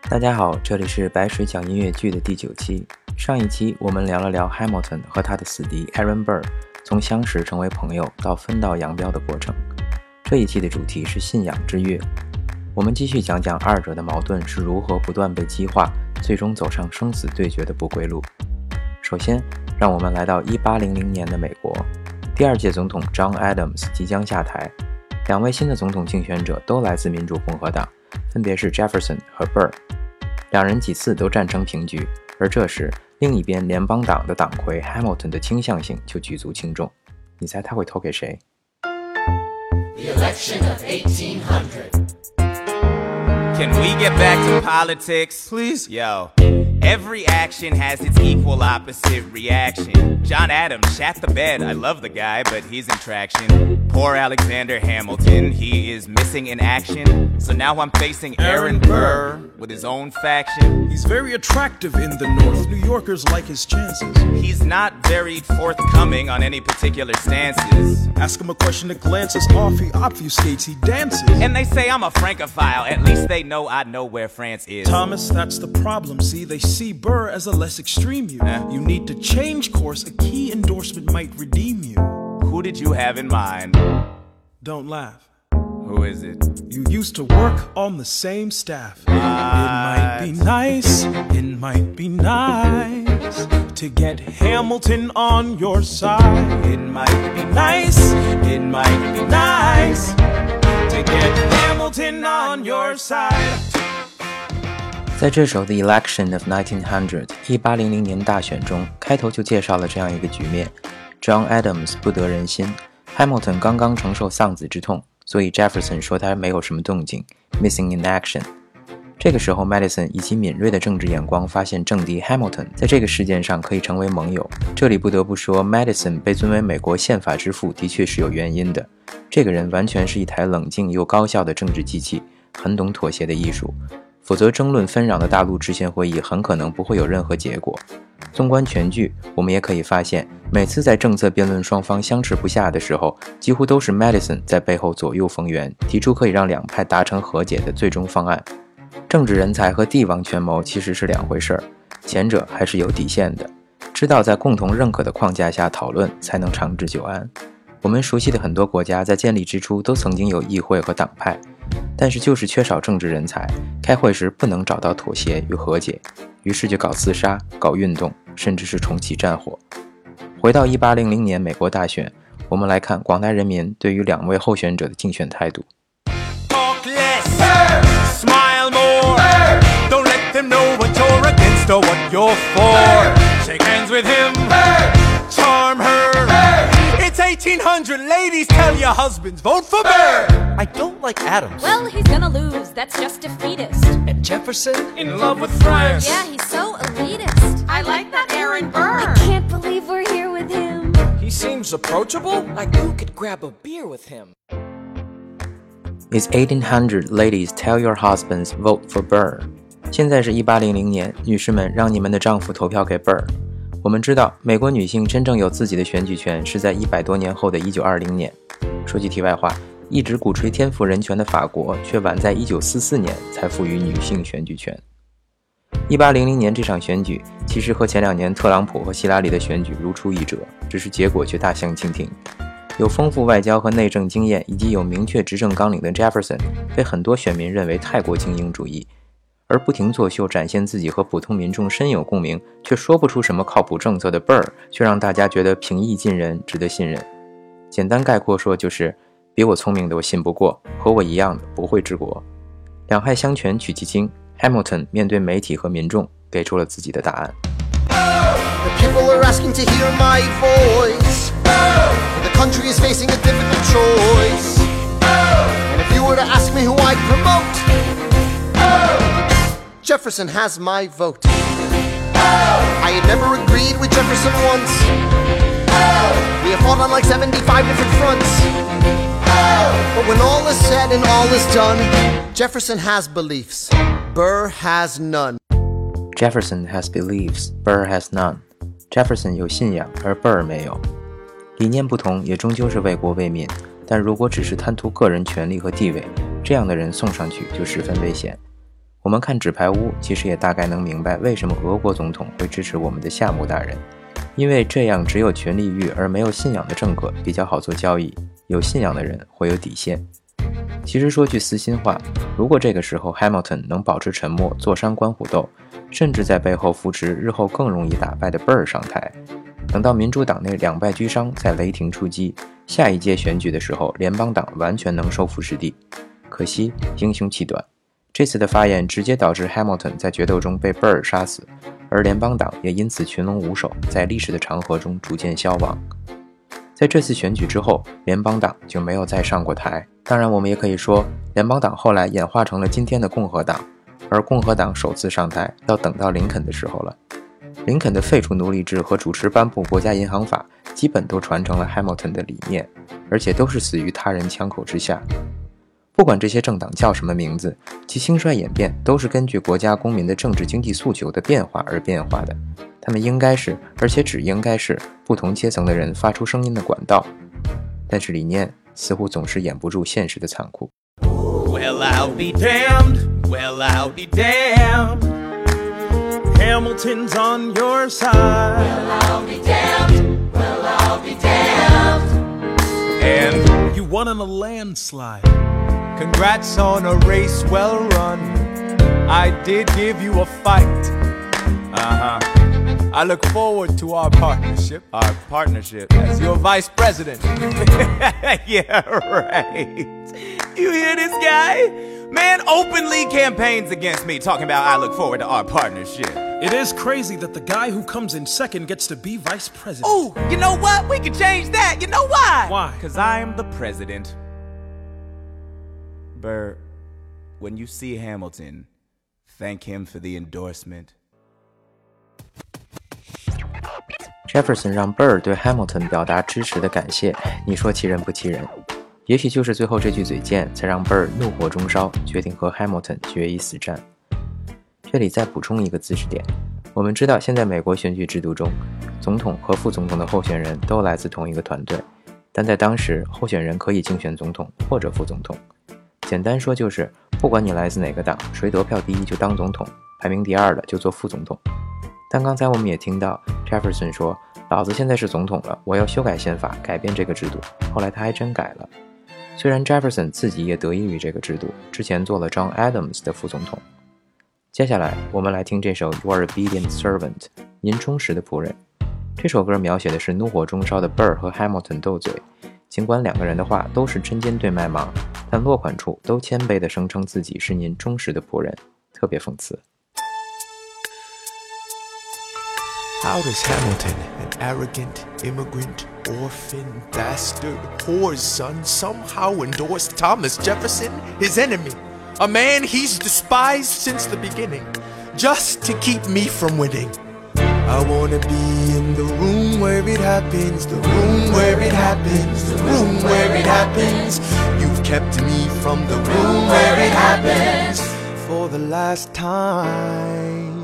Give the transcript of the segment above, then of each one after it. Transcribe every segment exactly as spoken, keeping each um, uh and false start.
大家好，这里是白水讲音乐剧的第九期。上一期我们聊了聊 Hamilton 和他的死敌 Aaron Burr 从相识成为朋友到分道扬镳的过程。这一期的主题是信仰之乐，我们继续讲讲二者的矛盾是如何不断被激化，最终走上生死对决的不归路。首先，让我们来到一八零零年的美国，第二届总统 John Adams 即将下台，两位新的总统竞选者都来自民主共和党，分别是 Jefferson 和 Burr， 两人几次都战成平局，而这时另一边联邦党的党魁 Hamilton 的倾向性就举足轻重。你猜他会投给谁？ The election of eighteen hundred. Can we get back to politics? Please? Yo, every action has its equal opposite reaction. John Adams shat the bed. I love the guy, but he's in traction. Poor Alexander Hamilton, he is missing in action. So now I'm facing Aaron Burr with his own faction. He's very attractive in the North. New Yorkers like his chances. He's not very forthcoming on any particular stances. Ask him a question that glances off, he obfuscates, he dances. And they say I'm a Francophile. At least they know I know where France is. Thomas, that's the problem. See, they see Burr as a less extreme you. Huh? You need to change course. A key endorsement might redeem you. Who did you have in mind? Don't laugh. Who is it? You used to work on the same staff. It might be nice, it might be nice to get Hamilton on your side. It might be nice, it might be nice to get Hamilton on your side. 在这首 The Election of nineteen hundred 一八零零年大选中，开头就介绍了这样一个局面。 John Adams 不得人心， Hamilton 刚刚承受丧子之痛，所以 Jefferson 说他没有什么动静 Missing in action。 这个时候 Madison 以其敏锐的政治眼光发现政敌 Hamilton 在这个事件上可以成为盟友。这里不得不说 Madison 被尊为美国宪法之父的确是有原因的，这个人完全是一台冷静又高效的政治机器，很懂妥协的艺术，否则争论纷扰的大陆制宪会议很可能不会有任何结果。纵观全剧，我们也可以发现，每次在政策辩论双方相持不下的时候，几乎都是 Madison 在背后左右逢源，提出可以让两派达成和解的最终方案。政治人才和帝王权谋其实是两回事儿，前者还是有底线的，知道在共同认可的框架下讨论才能长治久安。我们熟悉的很多国家在建立之初都曾经有议会和党派，但是就是缺少政治人才，开会时不能找到妥协与和解，于是就搞厮杀、搞运动，甚至是重启战火。回到一八零零年美国大选，我们来看广大人民对于两位候选者的竞选态度。 Talk less, smile more, don't let them know what you're against or what you're for. Shake hands with him, charm her. It's eighteen hundred, ladies, tell your husbands, vote for Burr. I don't like Adams. Well, he's gonna lose, that's just defeatist. And Jefferson? In love with France. Yeah, he's so elitist. I like that Aaron Burr. I can't believe we're here with him. He seems approachable. Like you could grab a beer with him. It's eighteen hundred, ladies, tell your husbands, vote for Burr. 现在是一八零零年，女士们，让你们的丈夫投票给 Burr。我们知道，美国女性真正有自己的选举权是在一百多年后的一九二零年。说句题外话，一直鼓吹天赋人权的法国，却晚在一九四四年才赋予女性选举权。一八零零年这场选举，其实和前两年特朗普和希拉里的选举如出一辙，只是结果却大相径庭。有丰富外交和内政经验以及有明确执政纲领的 Jefferson 被很多选民认为太过精英主义，而不停作秀展现自己和普通民众深有共鸣，却说不出什么靠谱政策的 Burr 却让大家觉得平易近人，值得信任。简单概括说就是，比我聪明的我信不过，和我一样的不会治国。两害相权取其轻， Hamilton 面对媒体和民众给出了自己的答案。 The people are asking to hear my voice. The country is facing a difficult choice. And if you were to ask me who I'd promote, Jefferson has my vote. I had never agreed with Jefferson once. We have fought on like seventy-five different fronts. But when all is said and all is done, Jefferson has beliefs. Burr has none. Jefferson has beliefs, Burr has none. Jefferson 有信仰，而 Burr 没有。理念不同，也终究是为国为民。但如果只是贪图个人权利和地位，这样的人送上去就十分危险。 我们看纸牌屋，其实也大概能明白为什么俄国总统会支持我们的夏目大人，因为这样只有权力欲而没有信仰的政客比较好做交易，有信仰的人会有底线。其实说句私心话，如果这个时候 Hamilton 能保持沉默，坐山观虎斗，甚至在背后扶持日后更容易打败的 Burr 上台，等到民主党内两败俱伤，再雷霆出击，下一届选举的时候，联邦党完全能收复失地。可惜英雄气短，这次的发言直接导致 Hamilton 在决斗中被 Burr 杀死，而联邦党也因此群龙无首，在历史的长河中逐渐消亡。在这次选举之后，联邦党就没有再上过台。当然我们也可以说，联邦党后来演化成了今天的共和党，而共和党首次上台要等到林肯的时候了。林肯的废除奴隶制和主持颁布国家银行法基本都传承了 Hamilton 的理念，而且都是死于他人枪口之下。不管这些政党叫什么名字，其兴衰演变都是根据国家公民的政治经济诉求的变化而变化的，他们应该是，而且只应该是不同阶层的人发出声音的管道。但是理念似乎总是掩不住现实的残酷。 Well, I'll be damned. Well, I'll be damned. Hamilton's on your side. Well, I'll be damned. Well, I'll be damned. And you won in a landslide. Congrats on a race well run. I did give you a fight. Uh-huh. I look forward to our partnership. Our partnership as your vice president. Yeah, right. You hear this guy? Man openly campaigns against me, talking about I look forward to our partnership. It is crazy that the guy who comes in second gets to be vice president. Oh, you know what? We can change that. You know why? Why? Because I'm the president. Burr, when you see Hamilton, thank him for the endorsement. Jefferson 让 Burr 对 Hamilton 表达支持的感谢，你说其人不其人？也许就是最后这句嘴贱，才让 Burr 怒火中烧，决定和 Hamilton 决一死战。这里再补充一个知识点，我们知道现在美国选举制度中，总统和副总统的候选人都来自同一个团队，但在当时，候选人可以竞选总统或者副总统。简单说就是，不管你来自哪个党，谁得票第一就当总统，排名第二的就做副总统。但刚才我们也听到 Jefferson 说，老子现在是总统了，我要修改宪法，改变这个制度。后来他还真改了。虽然 Jefferson 自己也得益于这个制度，之前做了 John Adams 的副总统。接下来我们来听这首 Your Obedient Servant， 您忠实的仆人。这首歌描写的是怒火中烧的 Burr 和 Hamilton 斗嘴，尽管两个人的话都是针尖对麦芒，但落款处都谦卑地声称自己是您忠实的仆人，特别讽刺。 How does Hamilton, an arrogant, immigrant, orphan, bastard, whore's son, somehow endorsed Thomas Jefferson, his enemy, a man he's despised since the beginning, just to keep me from winning? I wanna be in the room where it happens, the room where it happens, the room where it happens. You've kept me from the room where it happens for the last time.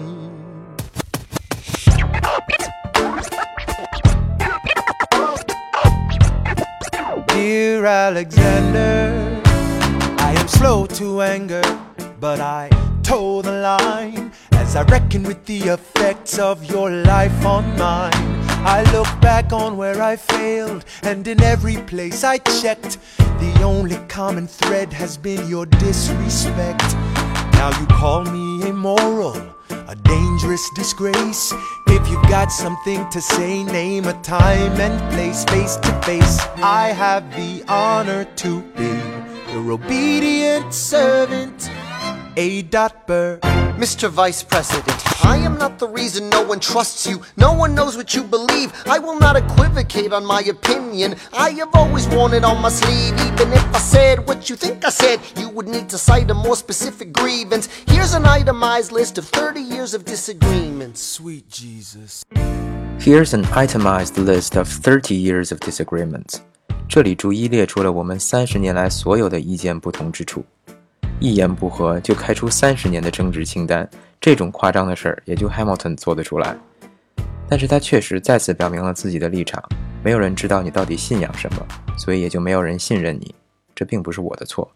Dear Alexander, I am slow to anger, but I toe the line as I reckon with the effects of your life on mine. I look back on where I failed, and in every place I checked, the only common thread has been your disrespect. Now you call me immoral, a dangerous disgrace. If you've got something to say, name a time and place, face to face. I have the honor to be your obedient servant, A. Burr. Mister Vice President, I am not the reason no one trusts you. No one knows what you believe. I will not equivocate on my opinion. I have always worn it on my sleeve. Even if I said what you think I said, you would need to cite a more specific grievance. Here's an itemized list of thirty years of disagreements. Sweet Jesus. Here's an itemized list of thirty years of disagreements. 这里逐一列出了我们三十年来所有的意见不同之处。一言不合就开出三十年的争执清单，这种夸张的事儿也就 Hamilton 做得出来。但是他确实再次表明了自己的立场，没有人知道你到底信仰什么，所以也就没有人信任你，这并不是我的错。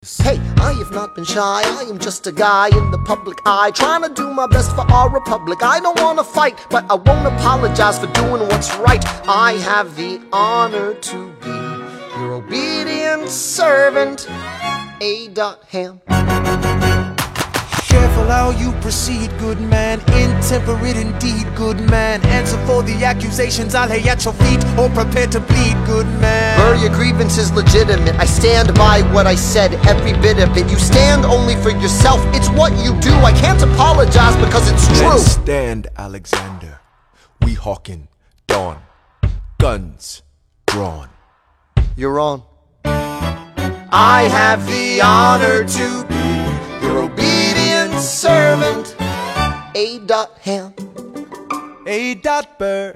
Hey, I have not been shy, I am just a guy in the public eye, trying to do my best for our republic. I don't want to fight, but I won't apologize for doing what's right. I have the honor to be your obedient servant, A. Ham. Careful how you proceed, good man. Intemperate indeed, good man. Answer for the accusations I'll lay at your feet, or prepare to bleed, good man. Burr, your grievance is legitimate. I stand by what I said, every bit of it. You stand only for yourself, it's what you do. I can't apologize because it's true. Then stand, Alexander. We hawking dawn, guns drawn. You're on. I have the honor to be your obedient servant, A. Ham. A. Burr.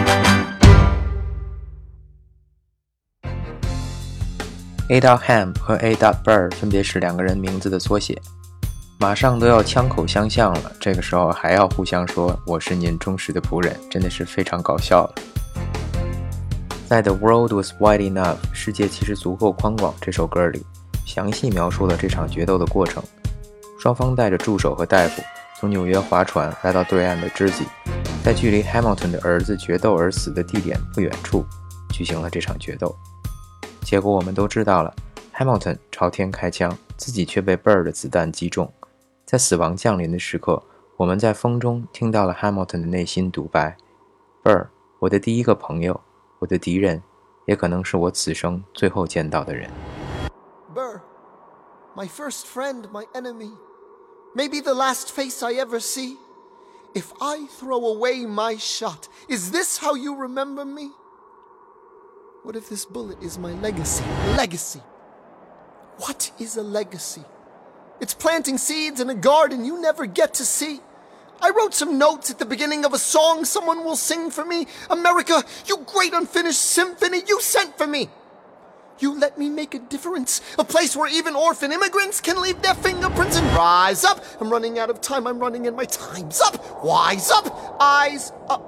A. Ham 和 A. Burr 分别是两个人名字的缩写，马上都要枪口相向了，这个时候还要互相说我是您忠实的仆人，真的是非常搞笑了。在 The World Was Wide Enough 世界其实足够宽广这首歌里，详细描述了这场决斗的过程。双方带着助手和大夫从纽约划船来到对岸的知己，在距离 Hamilton 的儿子决斗而死的地点不远处举行了这场决斗。结果我们都知道了， Hamilton 朝天开枪，自己却被 Burr 的子弹击中。在死亡降临的时刻，我们在风中听到了 Hamilton 的内心独白， Burr， 我的第一个朋友，我的敌人，也可能是我此生最后见到的人。 Burr, my first friend, my enemy, maybe the last face I ever see. If I throw away my shot, is this how you remember me? What if this bullet is my legacy? Legacy. What is a legacy? It's planting seeds in a garden you never get to see. I wrote some notes at the beginning of a song someone will sing for me. America, you great unfinished symphony you sent for me. You let me make a difference, a place where even orphan immigrants can leave their fingerprints and rise up. I'm running out of time, I'm running and my time's up. Wise up, eyes up.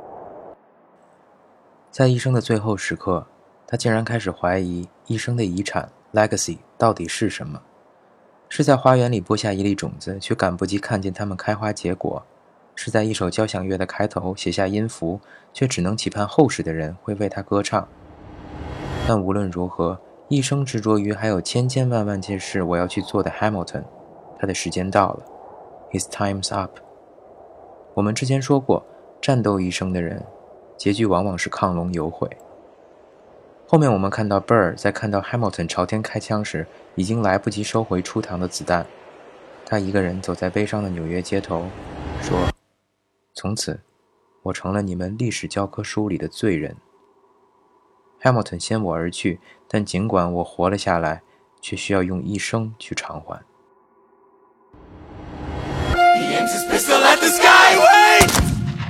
在一生的最后时刻，他竟然开始怀疑一生的遗产 legacy 到底是什么？是在花园里播下一粒种子，却赶不及看见它们开花结果；是在一首交响乐的开头写下音符，却只能期盼后世的人会为他歌唱。但无论如何，一生执着于还有千千万万件事我要去做的 Hamilton， 他的时间到了 His time's up。 我们之前说过，战斗一生的人结局往往是亢龙有悔。后面我们看到 Burr 在看到 Hamilton 朝天开枪时，已经来不及收回出膛的子弹。他一个人走在悲伤的纽约街头，说：从此我成了你们历史教科书里的罪人。 Hamilton 先我而去，但尽管我活了下来，却需要用一生去偿还。 He aims his pistol at the sky. Wait!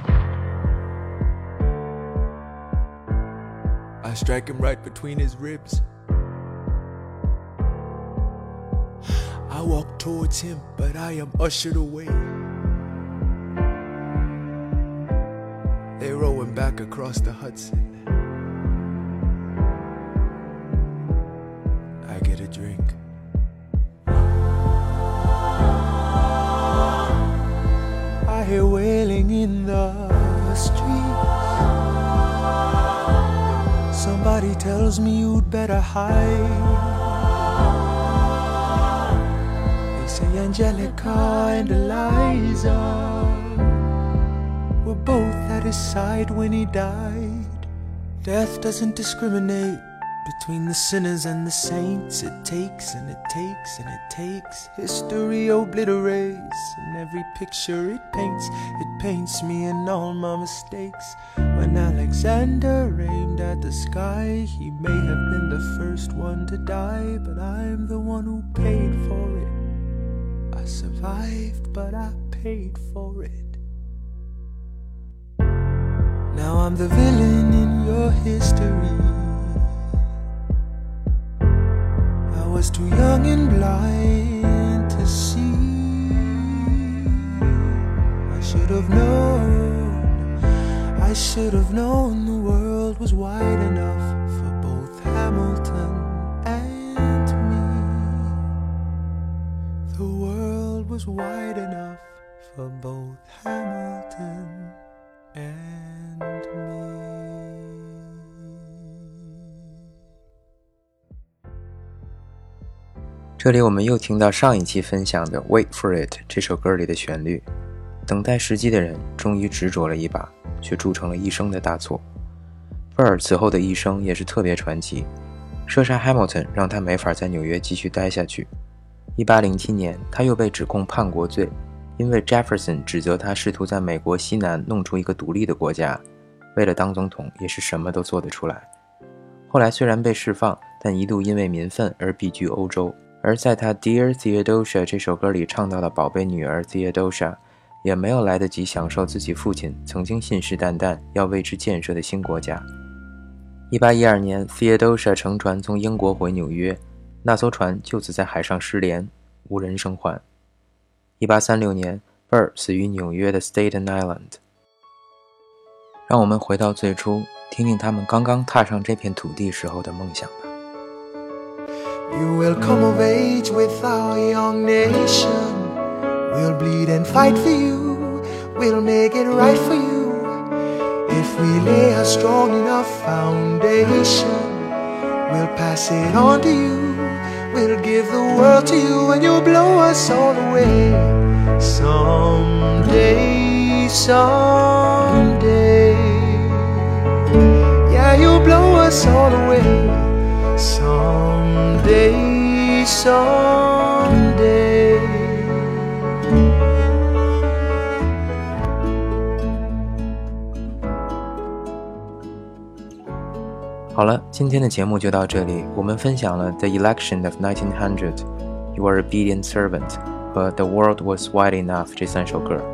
I strike him right between his ribs. I walk towards him, but I am ushered away. They row him back across the Hudson. I get a drink. I hear wailing in the streets. Somebody tells me you'd better hide. They say Angelica and Eliza were both at his side when he died. Death doesn't discriminate between the sinners and the saints. It takes and it takes and it takes. History obliterates, and every picture it paints, it paints me and all my mistakes. When Alexander aimed at the sky, he may have been the first one to die, but I'm the one who paid for it. I survived, but I paid for it. Now I'm the villain in your history. I was too young and blind to see. I should have known, I should have known the world was wide enough for both Hamilton and me. was wide enough for both Hamilton and me. 这里我们又听到上一期分享的 Wait for It 这首歌里的旋律，等待时机的人终于执着了一把，却铸成了一生的大错。贝尔此后的一生也是特别传奇，射杀 Hamilton 让他没法在纽约继续待下去。一八零七年他又被指控叛国罪，因为 Jefferson 指责他试图在美国西南弄出一个独立的国家，为了当总统也是什么都做得出来。后来虽然被释放，但一度因为民愤而避居欧洲，而在他 Dear Theodosia 这首歌里唱到了宝贝女儿 Theodosia， 也没有来得及享受自己父亲曾经信誓旦旦要为之建设的新国家。一八一二年 Theodosia 乘船从英国回纽约，那艘船就此在海上失联，无人生还。一八三六年 Burr 死于纽约的 Staten Island。 让我们回到最初，听听他们刚刚踏上这片土地时候的梦想吧。 You will come of age with our young nation. We'll bleed and fight for you. We'll make it right for you. If we lay a strong enough foundation, we'll pass it on to you. We'll give the world to you and you'll blow us all away. Someday, someday. Yeah, you'll blow us all away. Someday, someday. 好了，今天的节目就到这里。我们分享了 The Election of nineteen hundred, You Are a Obedient Servant 和 The World Was Wide Enough 这三首歌。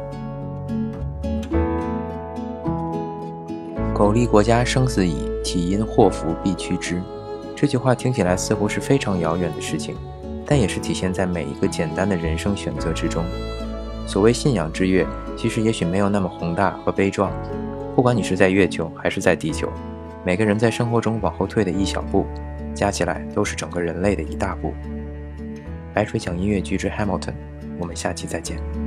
苟利国家生死以，体因祸福必趋之。这句话听起来似乎是非常遥远的事情，但也是体现在每一个简单的人生选择之中。所谓信仰之跃，其实也许没有那么宏大和悲壮。不管你是在月球还是在地球，每个人在生活中往后退的一小步，加起来都是整个人类的一大步。白水讲音乐剧之 Hamilton， 我们下期再见。